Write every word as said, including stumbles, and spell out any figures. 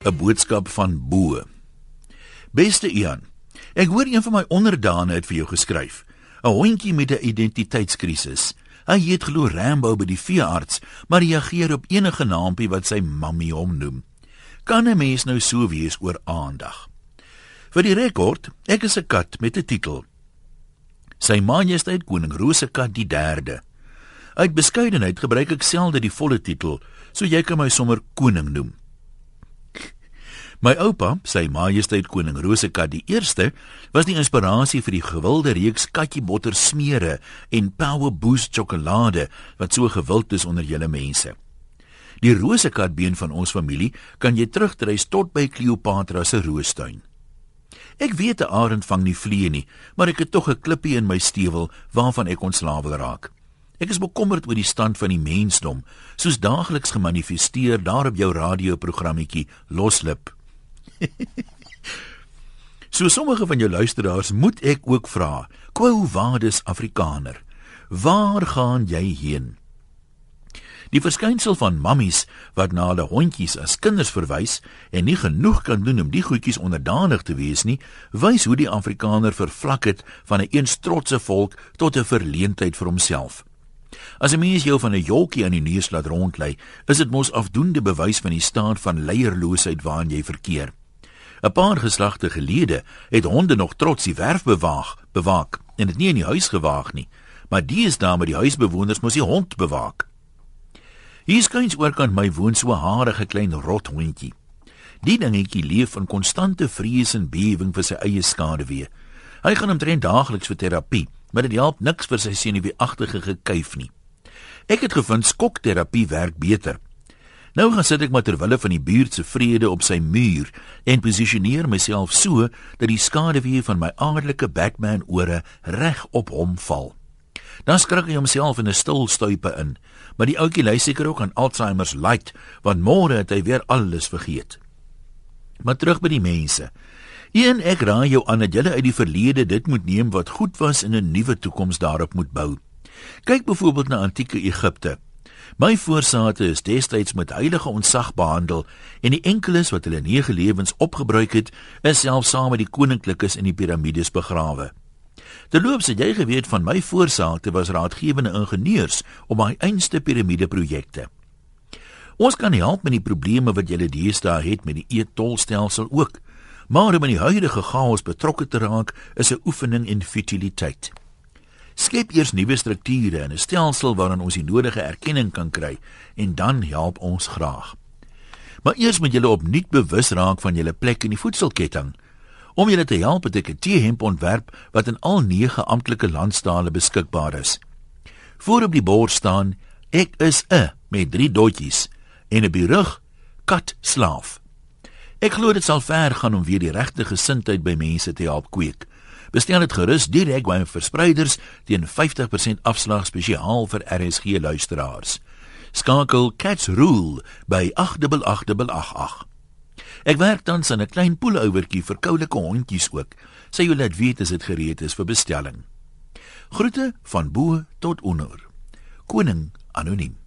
'n boodskap van Bo. Beste Ian, ek hoor een van my onderdane het vir jou geskryf. 'n Hondjie met 'n identiteitskrisis. Hy heet glo Rambo by die veearts, maar reageer op enige naampie wat sy mammie hom noem. Kan 'n mens nou so wees oor aandag? Vir die rekord, ek is 'n kat met 'n titel. Sy Majesteit Koning Rosekat die derde. Uit beskeidenheid gebruik ek selde die volle titel, so jy kan my sommer koning noem. My oupa, Sy Majesteit Koning Rosekat die eerste, was die inspirasie vir die gewilde reeks katjiebotter smere en Power Boost sjokolade wat so gewild is onder julle mense. Die rosekatbeen van ons familie kan jy terugtreis tot by Cleopatra se roostuin. Ek weet 'n arend vang nie vliee nie, maar ek het tog 'n klippie in my stewel waarvan ek ontslaaf wil raak. Ek is bekommerd oor die stand van die mensdom, soos daagliks gemanifesteer daar op jou radioprogrammetjie Loslip. So sommige van jou luisteraars moet ek ook vra, Quo vadis Afrikaner, waar gaan jy heen? Die verskynsel van mammies wat na hulle hondjies as kinders verwys en nie genoeg kan doen om die goedjies onderdanig te wees nie, wys hoe die Afrikaner vervlak het van 'n eens trotse volk tot 'n verleentheid vir homself. As 'n mens jou van 'n jolkie aan die neus laat rondlei, is dit mos afdoende bewys van die staat van leierloosheid waarin jy verkeer. 'n Paar geslagte gelede het honde nog trots die werf bewaag, bewaak en dit nie in die huis gewaag nie, maar die is daar met die huisbewoners moes die hond bewaak. Hier skuins oorkant my woon so 'n harige klein rothondjie. Die dingetjie leef in konstante vrees en bewing vir sy eie skaduwee. Hy gaan omtrent daagliks vir terapie, maar dit help niks vir sy senuweeagtige gekuif nie. Ek het gevind skokterapie werk beter. Nou gaan sit ek maar terwille van die buurt se vrede op sy muur en posisioneer myself so dat die skaduwee van my aardelike Batman ore reg op hom val. Dan skrik hy homself in 'n stil stuipe in, maar die ouetjie ly seker ook aan Alzheimer's light, want môre het hy weer alles vergeet. Maar terug by die mense. Een, ek raai jou aan dat julle uit die verlede dit moet neem wat goed was en 'n nuwe toekoms daarop moet bou. Kyk byvoorbeeld na antieke Egipte. My voorsate is destyds met heilige ontzag behandel en die enkeles wat hulle nege lewens opgebruik het, is selfs saam met die koninklikes in die piramides begrawe. Terloops het jy geweet van my voorsate was raadgewende ingenieurs op my einste piramideprojekte. Ons kan help met die probleme wat julle deesdae het met die e-tolstelsel ook, maar om in die huidige chaos betrokke te raak is 'n oefening in futiliteit. Skep eers nuwe strukture en 'n stelsel waarin ons die nodige erkenning kan kry en dan help ons graag. Maar eers moet julle opnuut bewus raak van julle plek in die voedselketting. Om julle te help het ek 'n teehemp ontwerp wat in al nege amptelike landstale beskikbaar is. Voor op die bord staan, ek is 'n met drie dotjies en op die rug, kat slaaf. Ek glo dit sal ver gaan om weer die regte gesindheid by mense te help kweek. Bestel dit gerus direk by verspreiders teen vyftig persent afslag spesiaal vir R S G luisteraars. Skakel Cats Rule by agt agt agt agt agt agt. Ek werk tans aan 'n klein poelouwertjie vir koulike hondjies ook. Sy wil laat weet as dit gereed is vir bestelling. Groete van Bo tot Onor. Koning Anoniem.